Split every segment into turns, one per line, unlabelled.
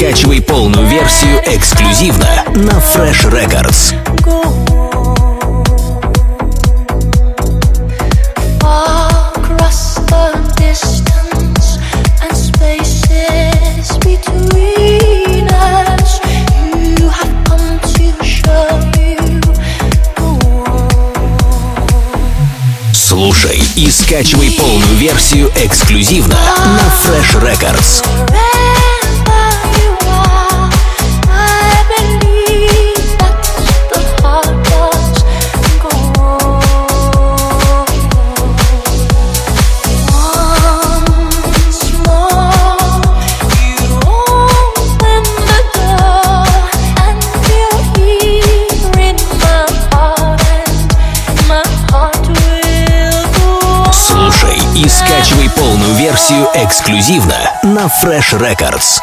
скачивай полную версию эксклюзивно на Fresh Records. Слушай и скачивай полную версию эксклюзивно на Fresh Records. И скачивай полную версию эксклюзивно на Fresh Records.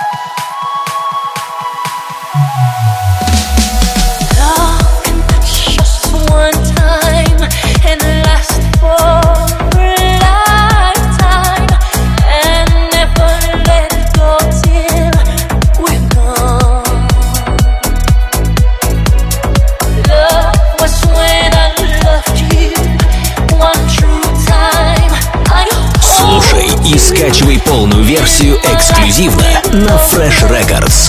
И скачивай полную версию эксклюзивно на Fresh Records.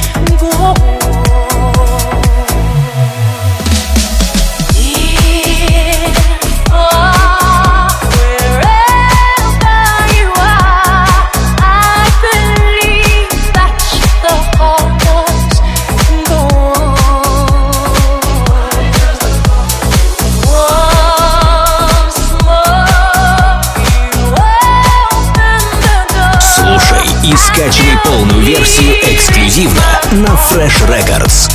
И скачивай полную версию эксклюзивно на Fresh Records.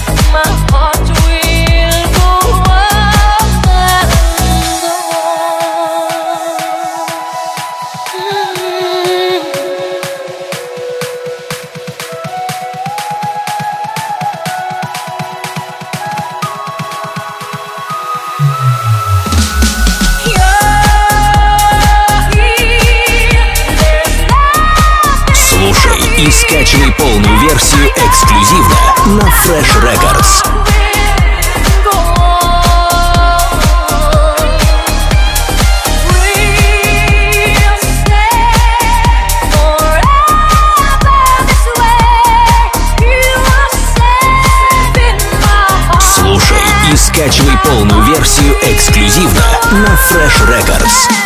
И скачивай полную версию эксклюзивно на Fresh Records. Слушай и скачивай полную версию эксклюзивно на Fresh Records.